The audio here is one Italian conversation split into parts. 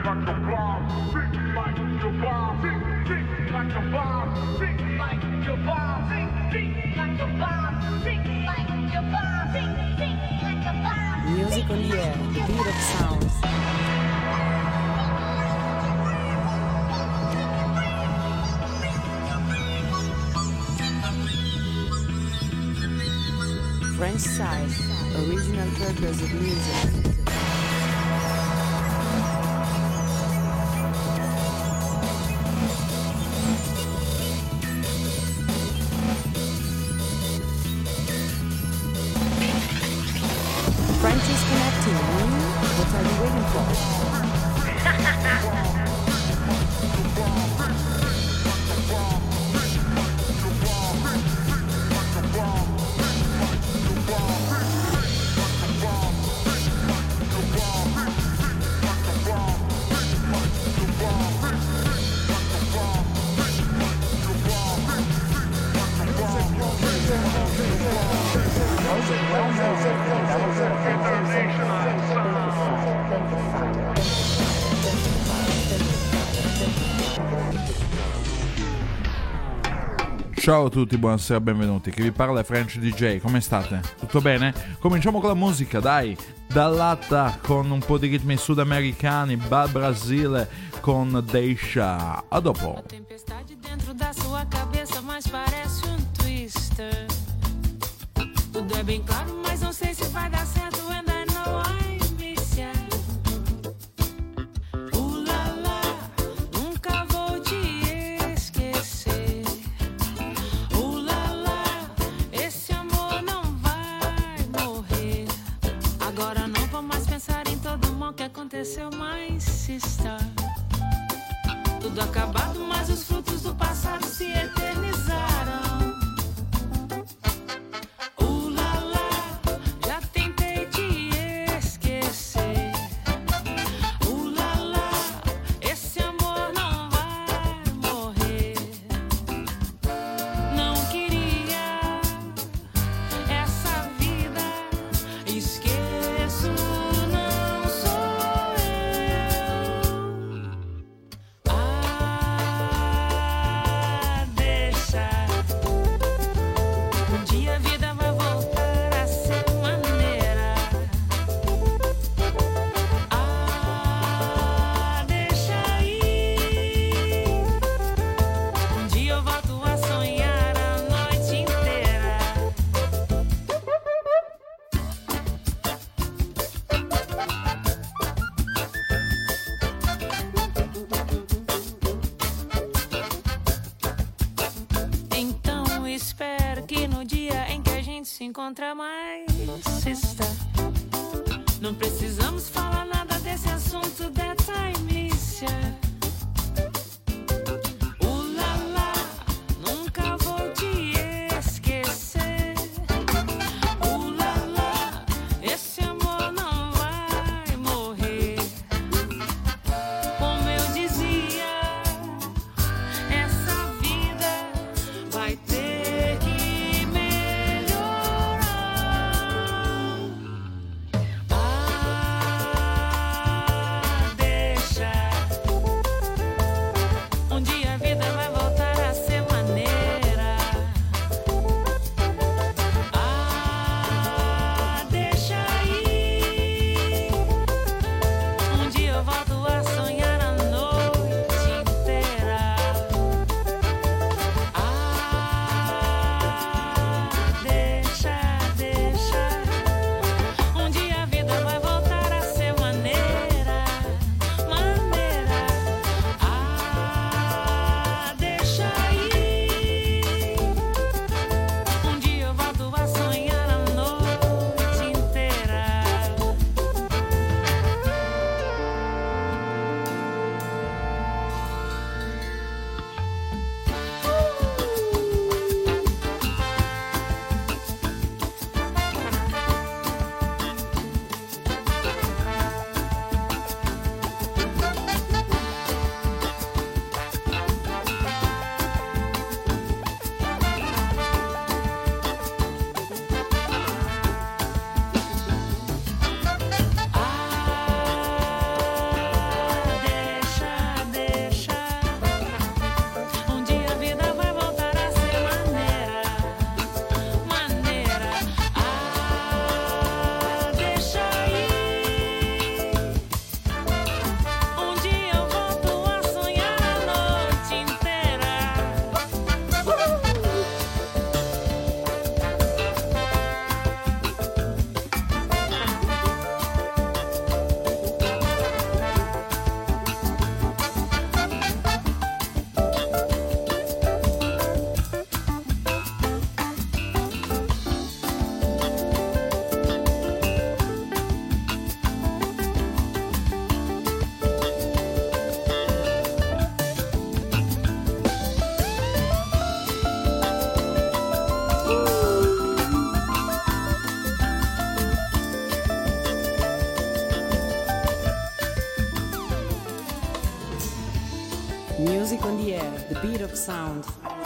Music on the air, the beat of sounds. French side, original purpose of music. French is connecting. What are you waiting for? Ciao a tutti, buonasera, benvenuti. Chi vi parla è French DJ, come state? Tutto bene? Cominciamo con la musica, dai! Dall'Atta con un po' di ritmi sudamericani, Bal Brasile con Deixa. A dopo. Tempestade dentro da sua cabeça, mas parece twister. Tudo é bem claro, mas não sei se vai dar certo. And I know I miss ya. La la, nunca vou te esquecer. La la, esse amor não vai morrer. Agora não vou mais pensar em todo o mal que aconteceu, mas se está tudo acabado, mas os frutos do passado se eternizaram. Encontra mais está. Não precisamos falar nada desse assunto, that's I miss ya. La la, nunca vou te esquecer. La la, esse amor não vai morrer. Como eu dizia, essa vida vai ter que Music on the air, the beat of sound.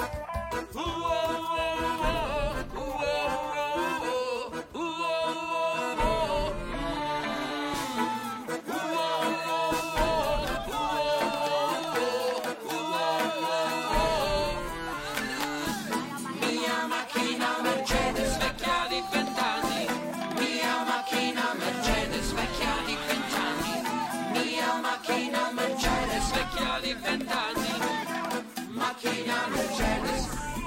Mia macchina Mercedes vecchia di 20 anni. Mia macchina Mercedes vecchia di 20 anni. Mia macchina Mercedes vecchia di 20 anni. Macchina Mercedes.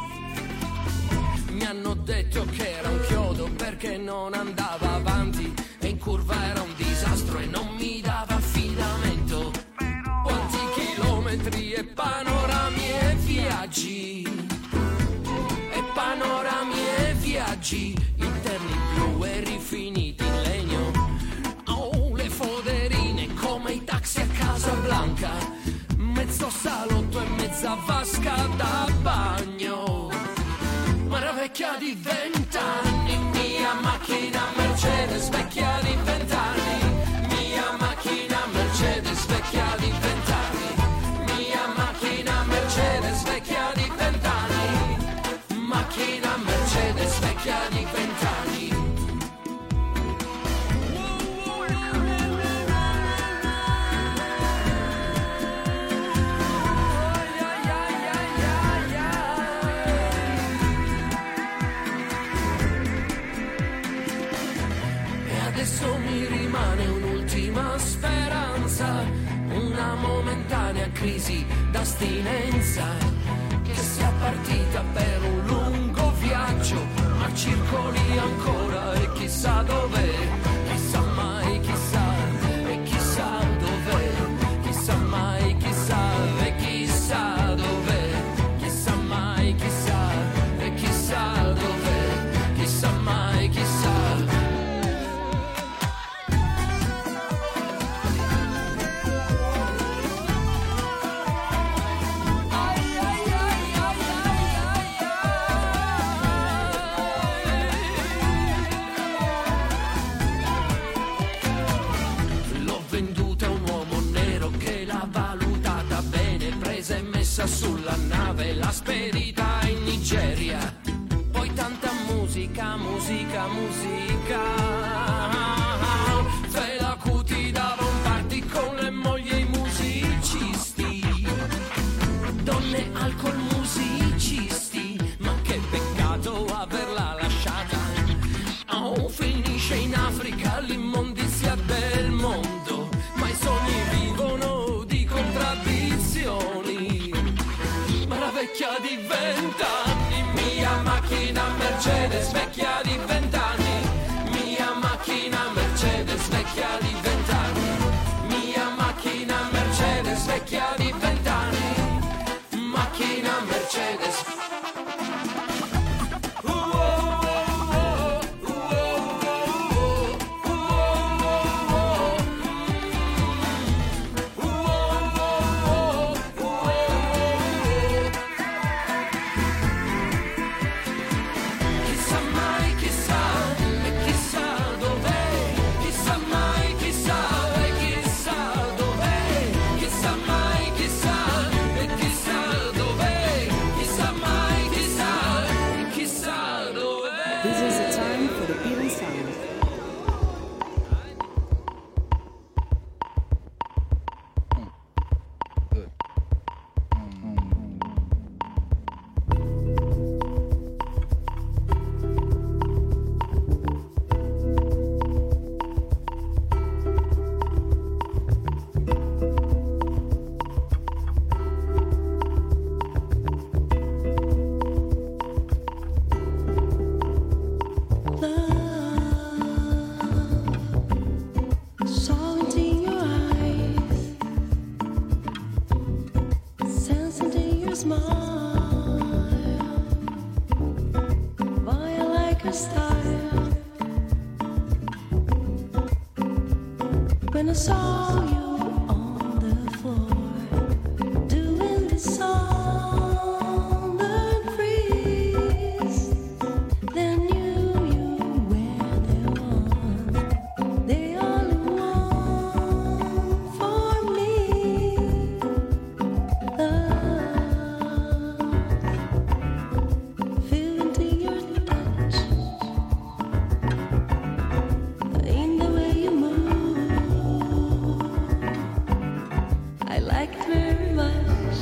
Mi hanno detto che era un chiodo perché non andava avanti e in curva era un disastro e non mi dava affidamento. Quanti chilometri e panorami e viaggi, e panorami e viaggi, interni blu e rifiniti in legno. Oh, le foderine come i taxi a Casablanca, mezzo salotto e mezza vasca da bagno. Ma era vecchia di 20 anni, mia macchina Mercedes vecchia di 20 anni. Mia macchina Mercedes vecchia di 20 anni. Mia macchina Mercedes vecchia di 20 anni. Macchina Mercedes vecchia di 20 anni. Adesso mi rimane un'ultima speranza, una momentanea crisi d'astinenza, che sia partita per un lungo viaggio, ma circoli ancora e chissà dov'è, chissà mai chissà, e chissà dov'è, chissà mai chissà, e chissà dov'è, chissà mai chissà, e chissà dov'è, chissà mai chissà. Sulla nave l'ha spedita in Nigeria, poi tanta musica, musica, musica. Fela Kuti dava un party con le mogli e i musicisti, donne, alcol, musicisti, ma che peccato averla lasciata. Oh, finisce in Africa l'immondizia del mondo, ma i sogni vivono di contraddizioni. Vecchia di 20 anni, mia macchina Mercedes vecchia di 20 anni. Mia macchina Mercedes vecchia di 20 anni. Mia macchina Mercedes vecchia di 20 anni. Macchina Mercedes. When I saw you on the floor doing the song that freeze, then you were the one, the only one for me. like it very much.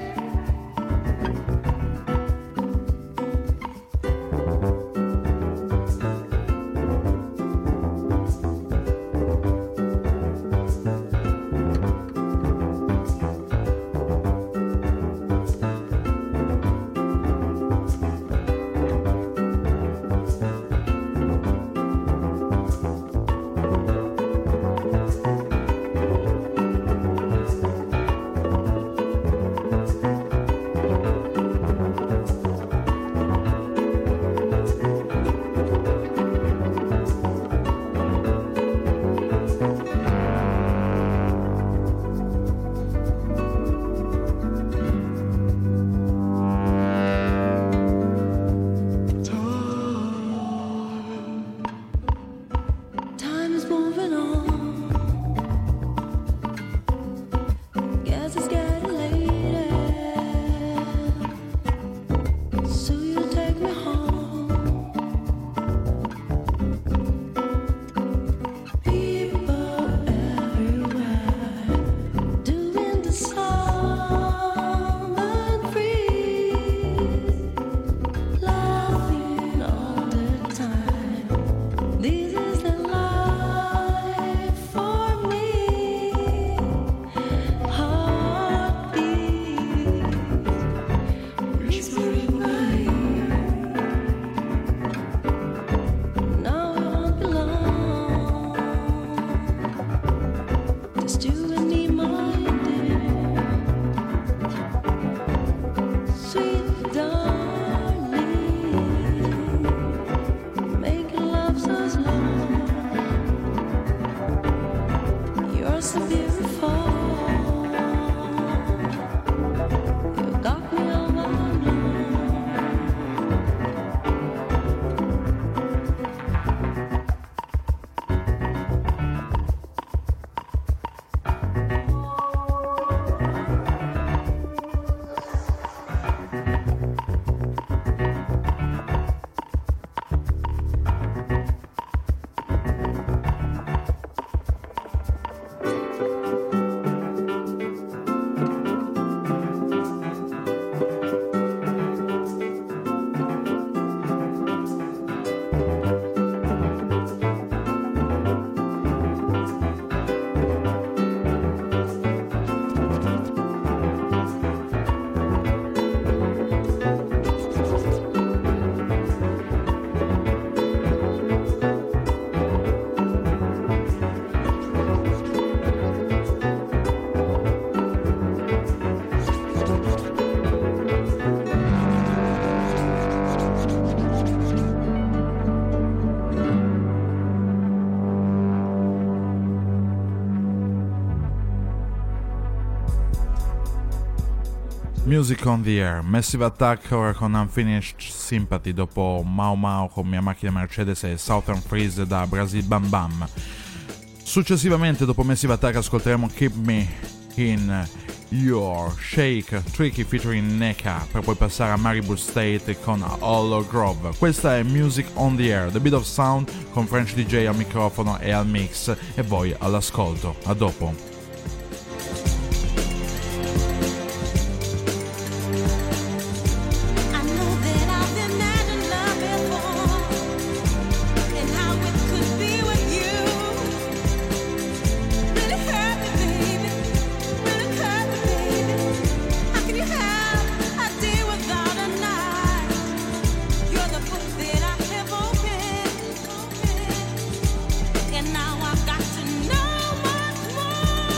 Music on the Air, Massive Attack ora con Unfinished Sympathy dopo Mau Mau con Mia Macchina Mercedes e Southern Freeze da Brazil Bam Bam. Successivamente dopo Massive Attack ascolteremo Keep Me in Your Shake Tricky featuring Neka per poi passare a Maribor State con Hollow Grove. Questa è Music on the Air, The Beat of Sound con French DJ al microfono e al mix e voi all'ascolto. A dopo. Now I've got to know much more.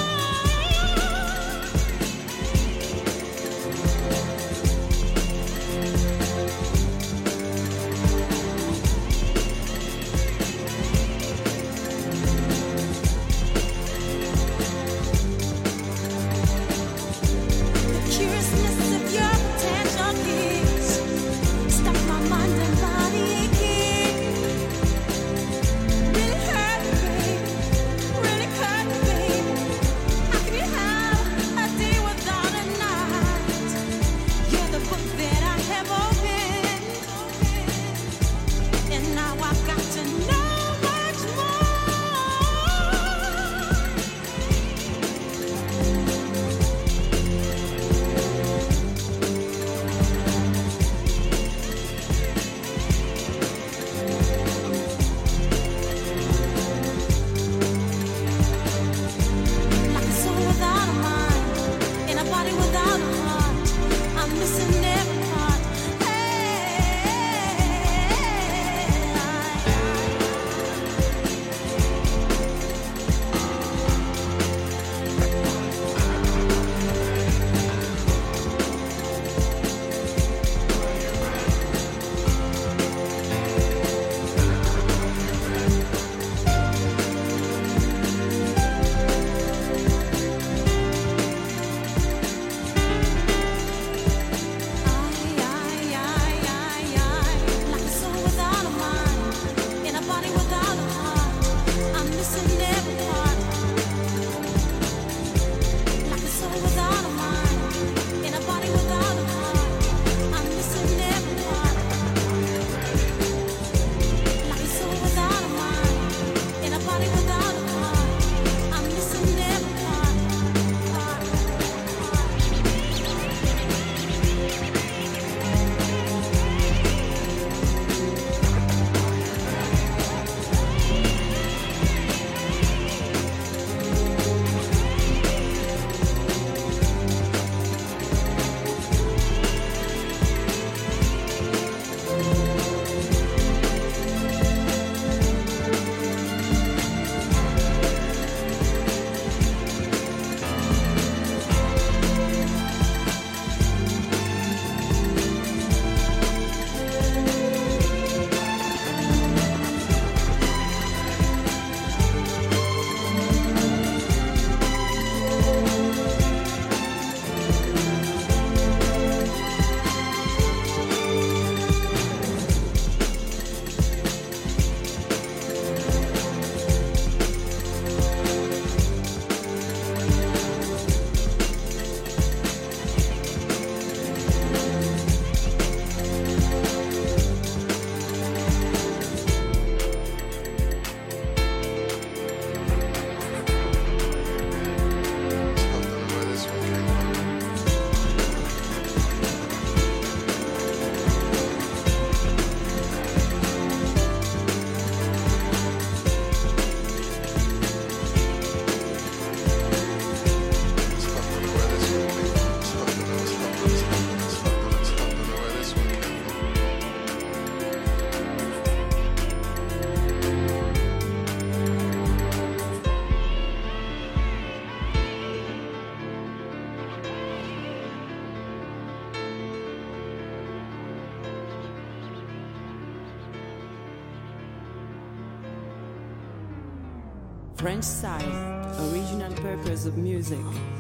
French style, original purpose of music.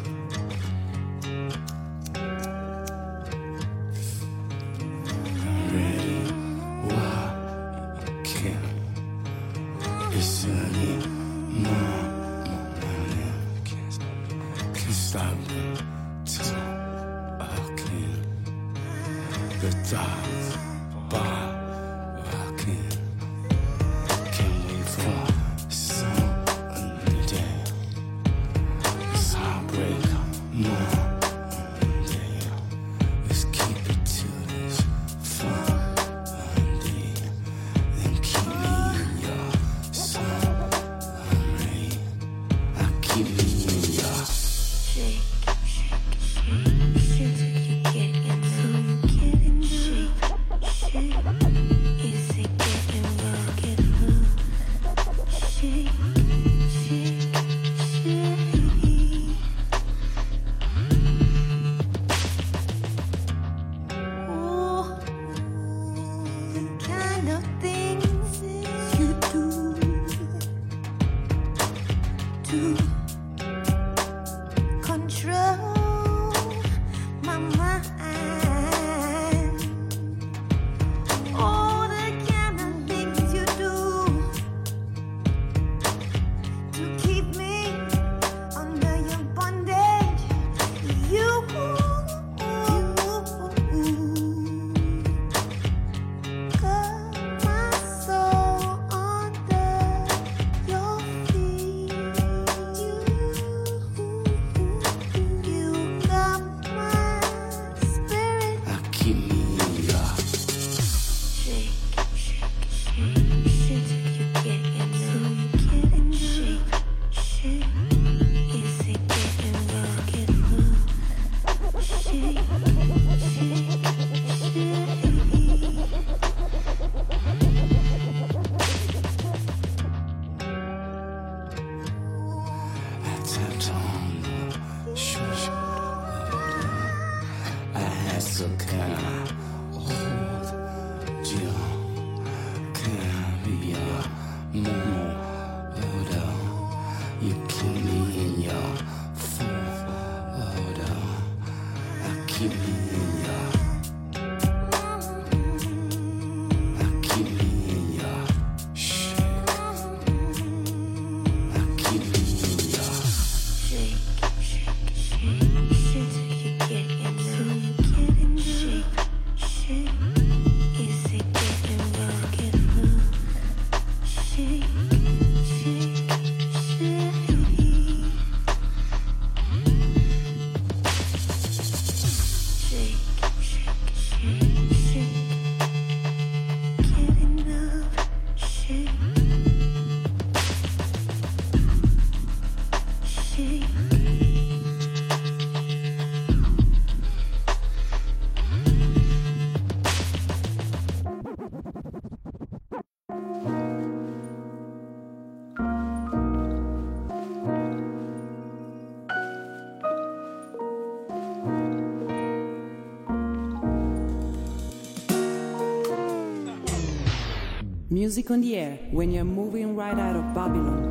Music on the air when you're moving right out of Babylon.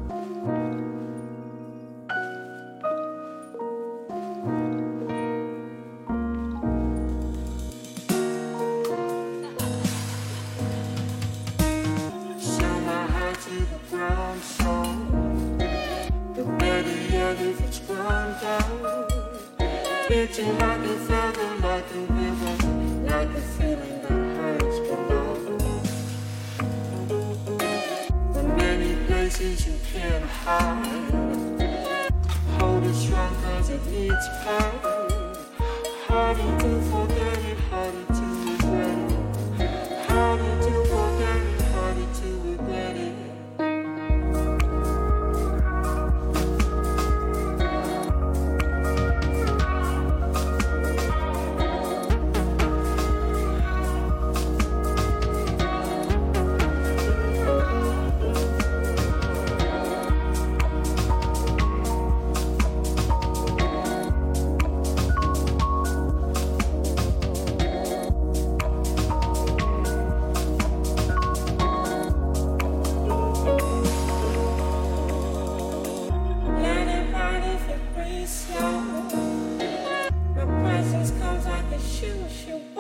Reaching like a feather, like a river, like a feeling that hurts below. In many places you can't hide. Hold it strong cause it needs power. Harder to forget it, harder to regret it. Harder to forget it, harder to regret it.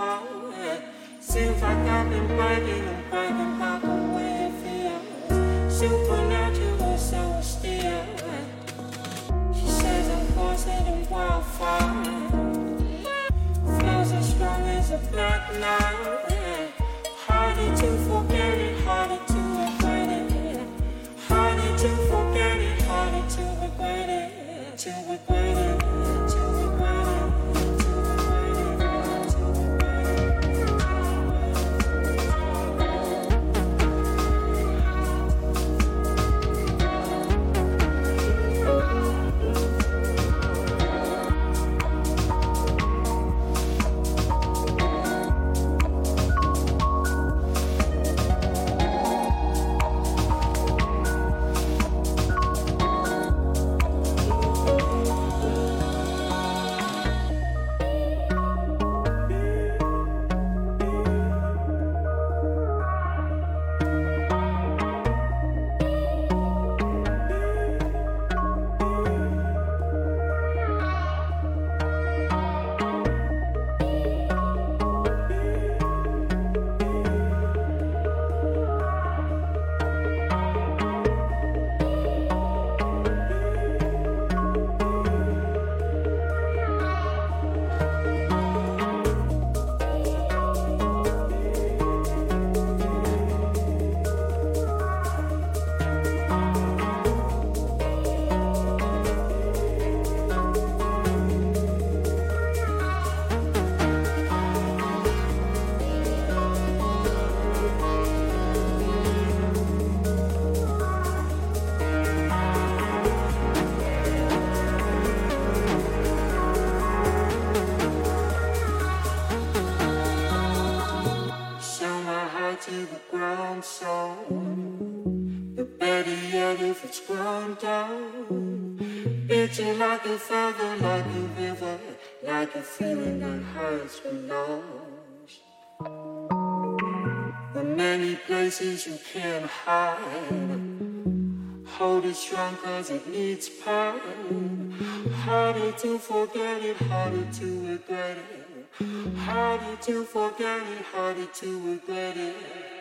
why. Seems like I've been bragging and bragging about the way it feels. Supernatural, so still. She says I'm poison and wildfire. Flows as strong as a black night. Harder to forget it, harder to regret it. Harder to forget it, harder to regret it. To regret it, to regret it, to regret it, to to the ground, so but better yet if it's ground down, itching like a feather, like a river, like a feeling that hurts below. The many places you can't hide, hold it strong cause it needs pain. Harder to forget it, harder to regret it. Harder to forget it, harder to regret it.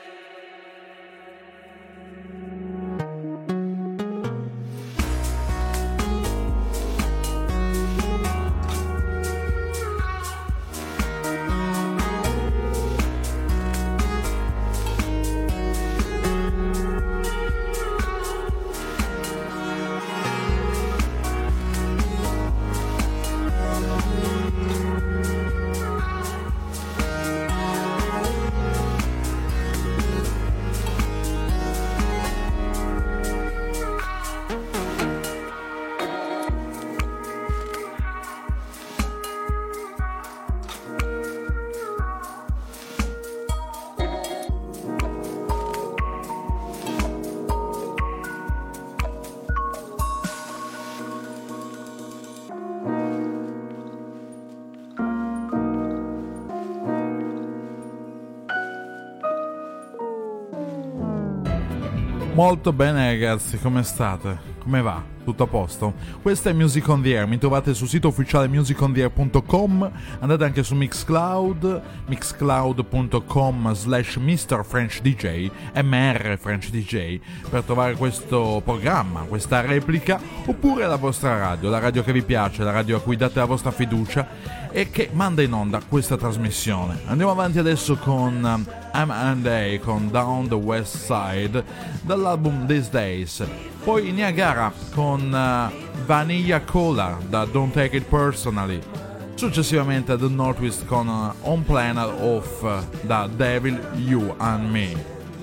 Molto bene ragazzi, come state? Come va? Tutto a posto? Questa è Music on the Air, mi trovate sul sito ufficiale musicontheair.com, andate anche su Mixcloud, mixcloud.com/MrFrenchDJ, MR French DJ, per trovare questo programma, questa replica, oppure la vostra radio, la radio che vi piace, la radio a cui date la vostra fiducia e che manda in onda questa trasmissione. Andiamo avanti adesso con M&A con Down the West Side dall'album These Days, poi Niagara con Vanilla Cola da Don't Take It Personally, successivamente The Northwest con On Planet Off da Devil, You and Me.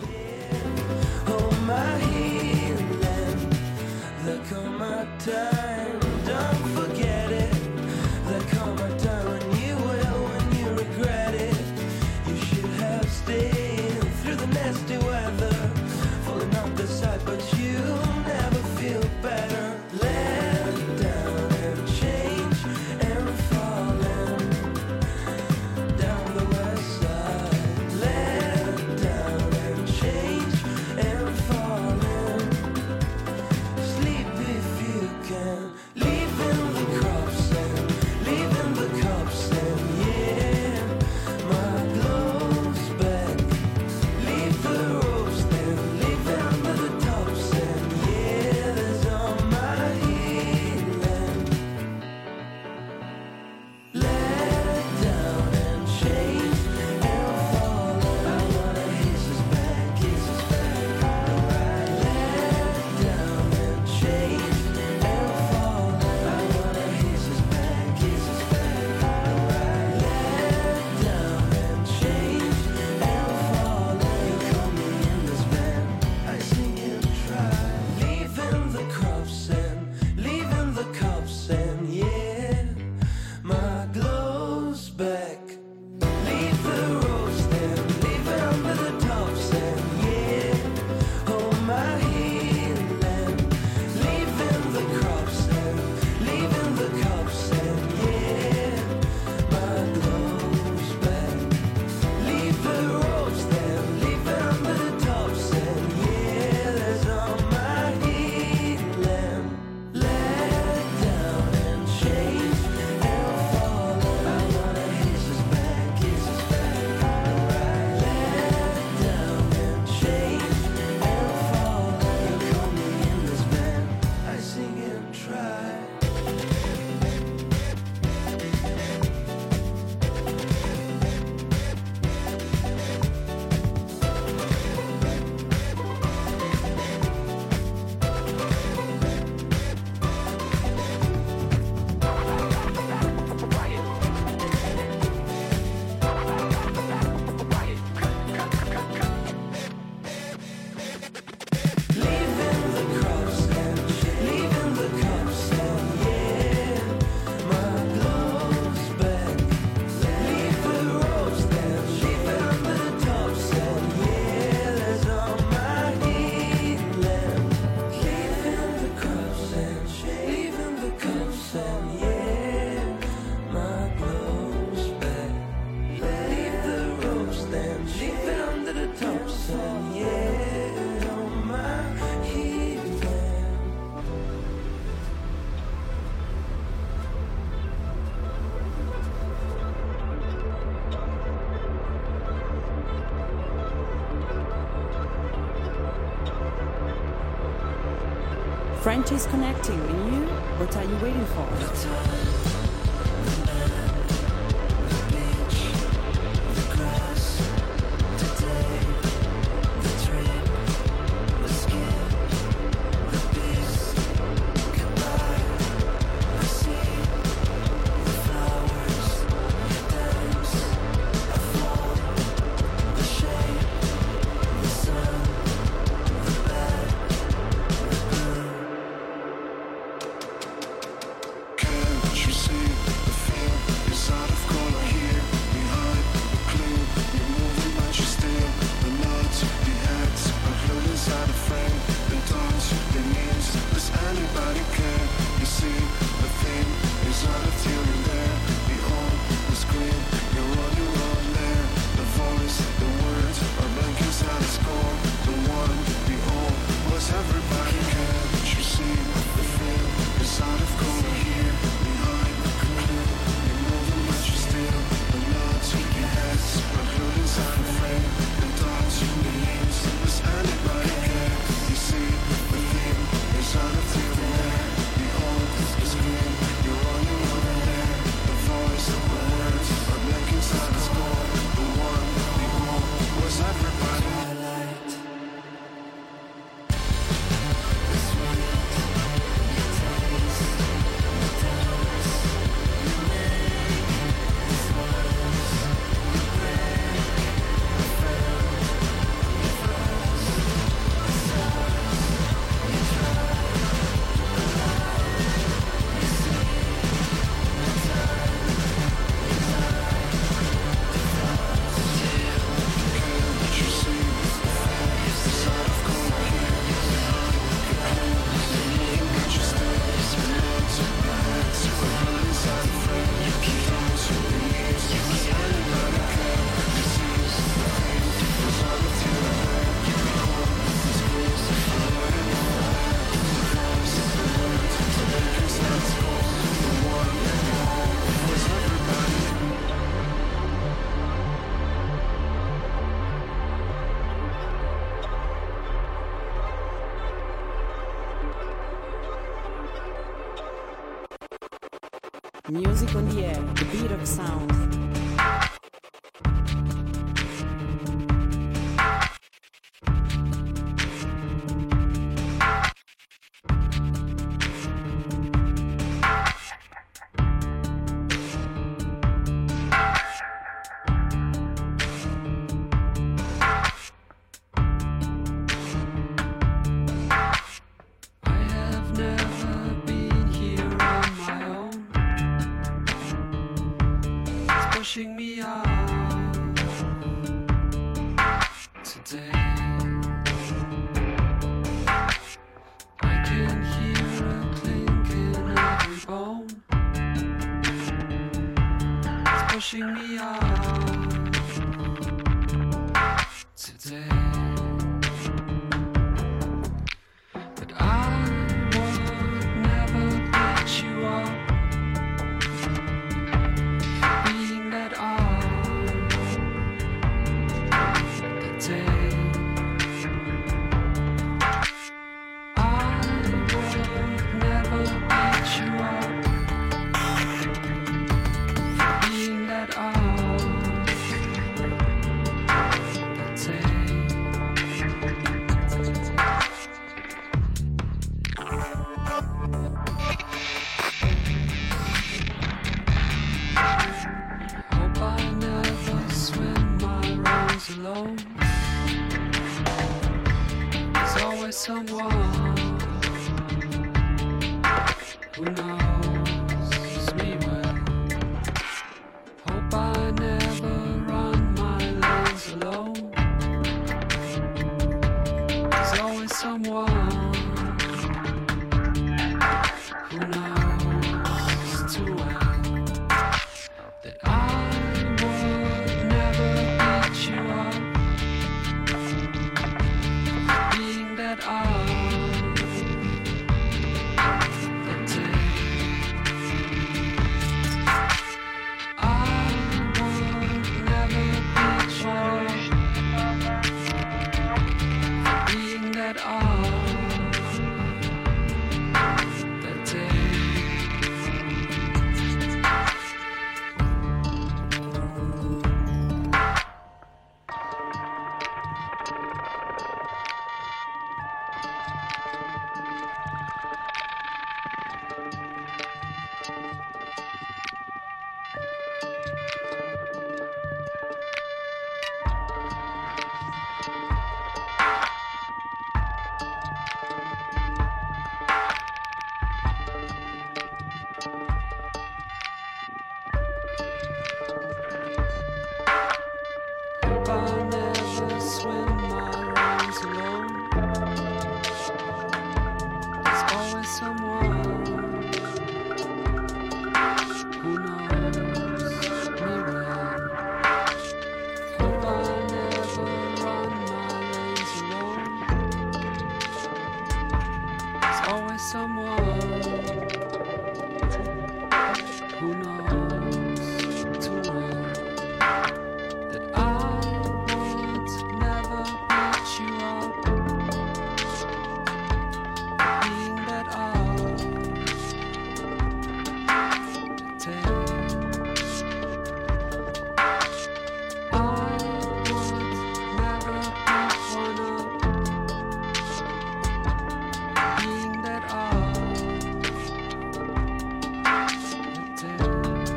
Hold my hand and there come a time, don't forget it. There come a time when you will, when you regret it. You should have stayed through the nasty weather, falling off the side, but you never feel better. Let down and change and falling down the west side. Let down and French is connecting, and you? What are you waiting for? Music on the air, the beat of sound. Pushing me out today. I can hear a clink in every bone. It's pushing me out today. But I would never beat you up. Someone who knows me well. Hope I never run my lanes alone. There's always someone who knows too well that I would never beat you up. Being that I Who knows too well that I once never put you up, being that all it takes. I once never put one up, being that all it takes.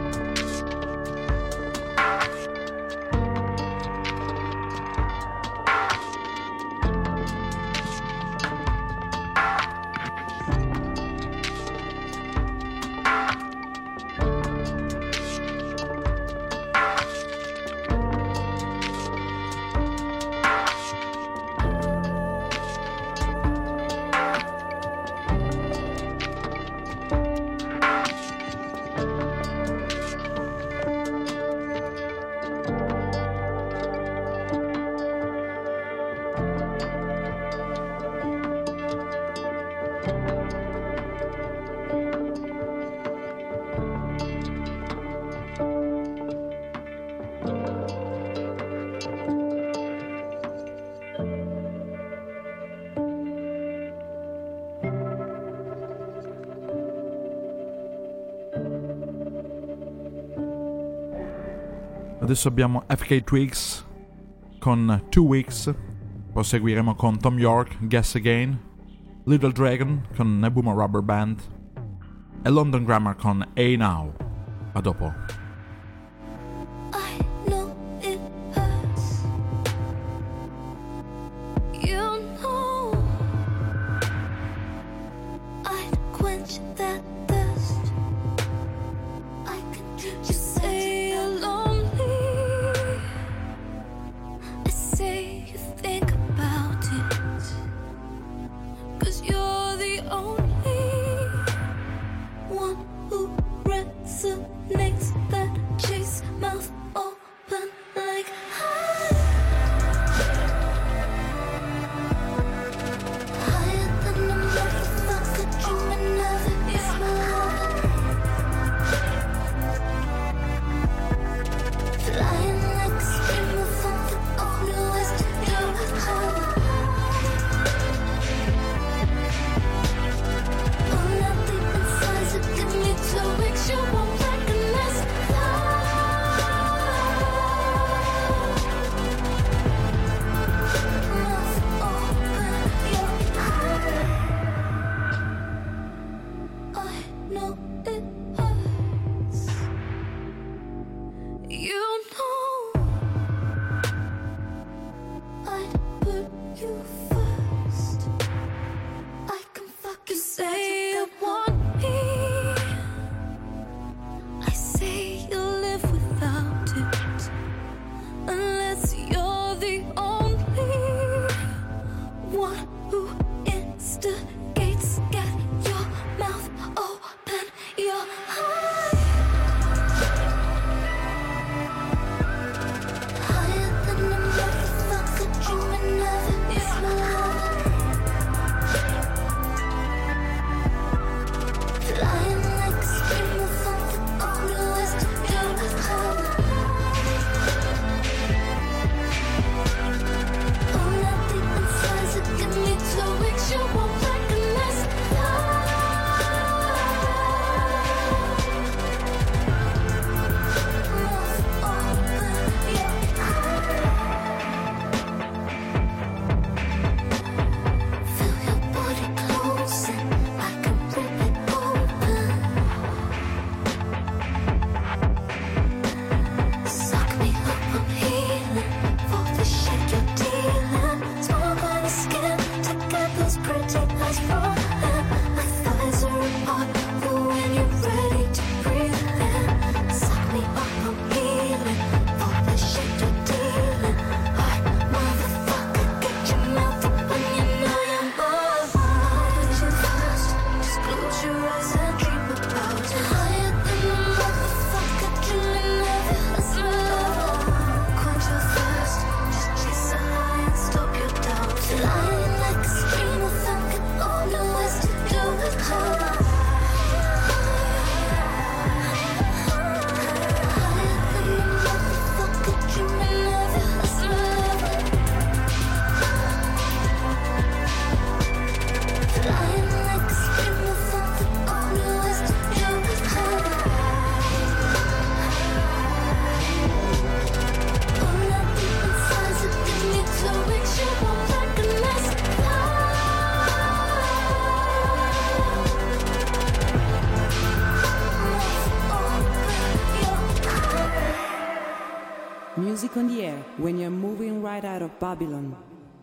Adesso abbiamo FK Twigs con 2 Weeks, proseguiremo con Tom York, Guess Again, Little Dragon con Nebuma Rubber Band e London Grammar con Hey Now. A dopo. I know it hurts. You know I'd quench that thirst. I can just say you're lonely. I say you think about it, 'cause you're the only one who resonates. That chase mouth open like higher than a motherfucker, dreaming of it. It's my love. music on the air when you're moving right out of Babylon.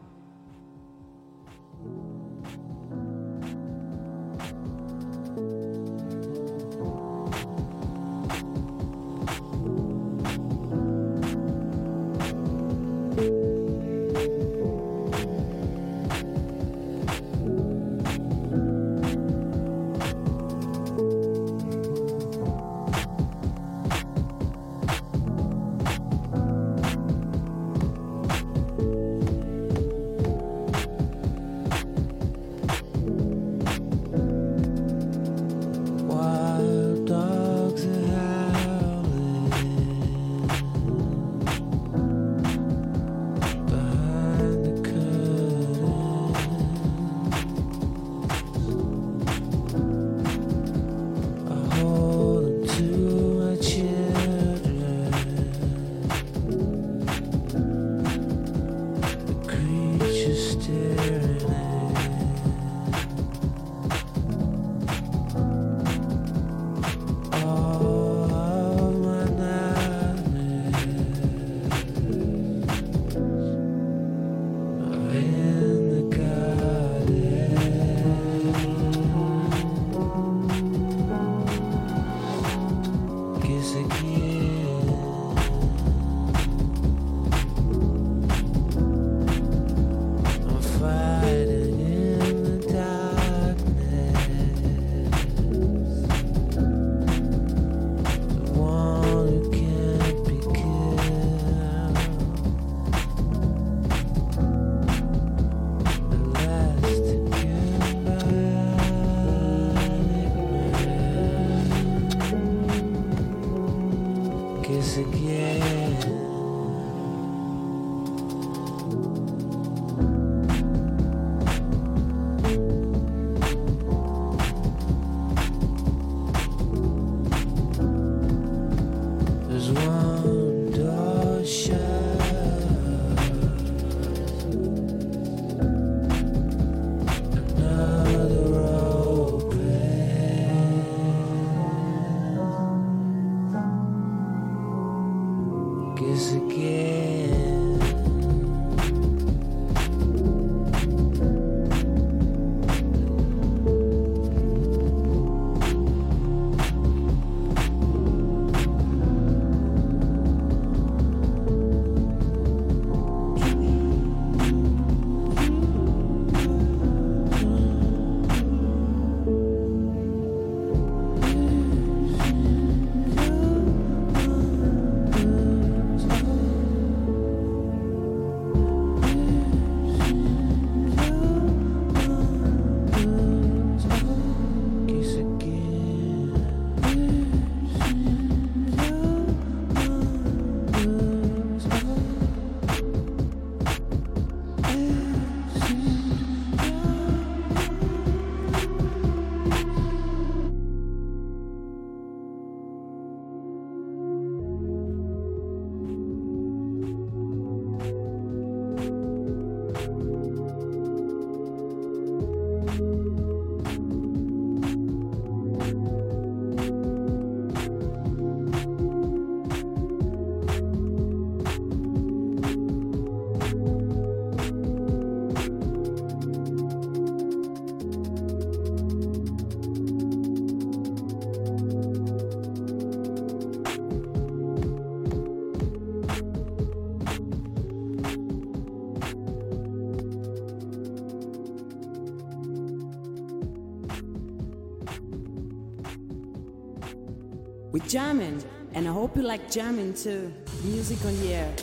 We're jamming, and I hope you like jamming too. Music on the air.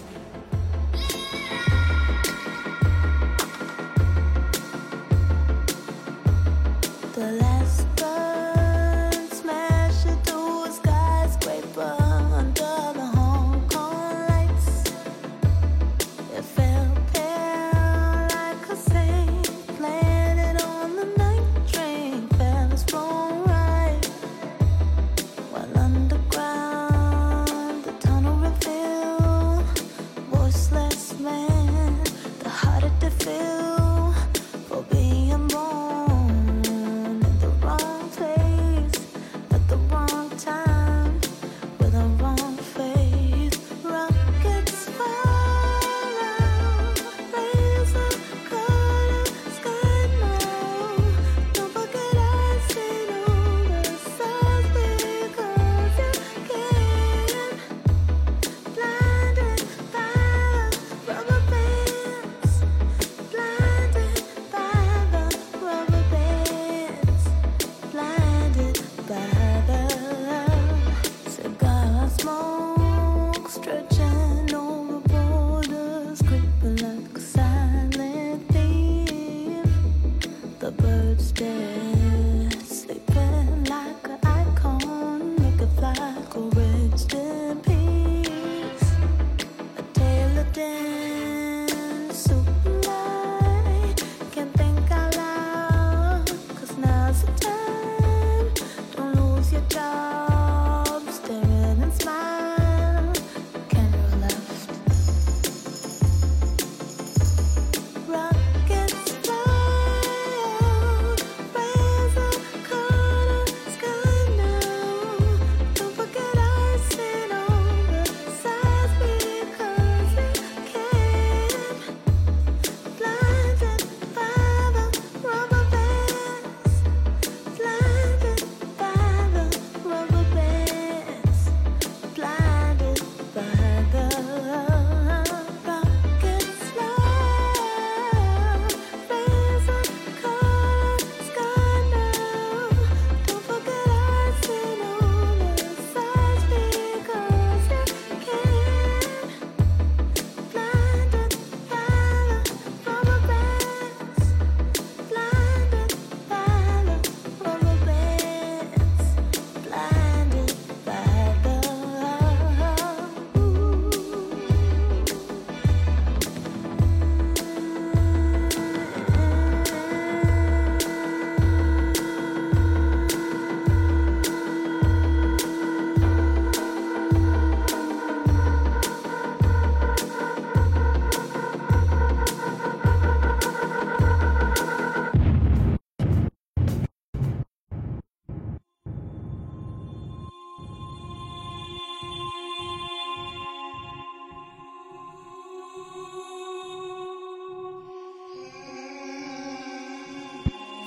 The last bird smashed into a skyscraper under the Hong Kong lights. It fell pale like a saint planted on the night train. Feathers flown right while underground the tunnel revealed voiceless man.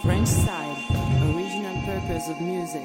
French style, original purpose of music.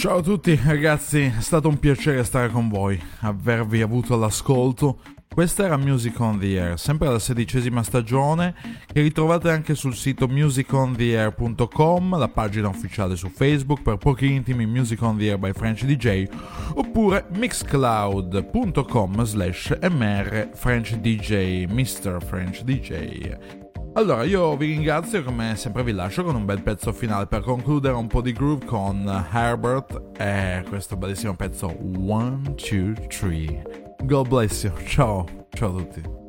Ciao a tutti ragazzi, è stato un piacere stare con voi, avervi avuto all'ascolto. Questa era Music on the Air, sempre la 16ª stagione, che ritrovate anche sul sito musicontheair.com, la pagina ufficiale su Facebook per pochi intimi Music on the Air by French DJ, oppure mixcloud.com/mr French DJ, Mr. French DJ. Allora, io vi ringrazio, come sempre vi lascio con un bel pezzo finale per concludere, un po' di groove con Herbert e questo bellissimo pezzo 1, 2, 3. God bless you, ciao a tutti.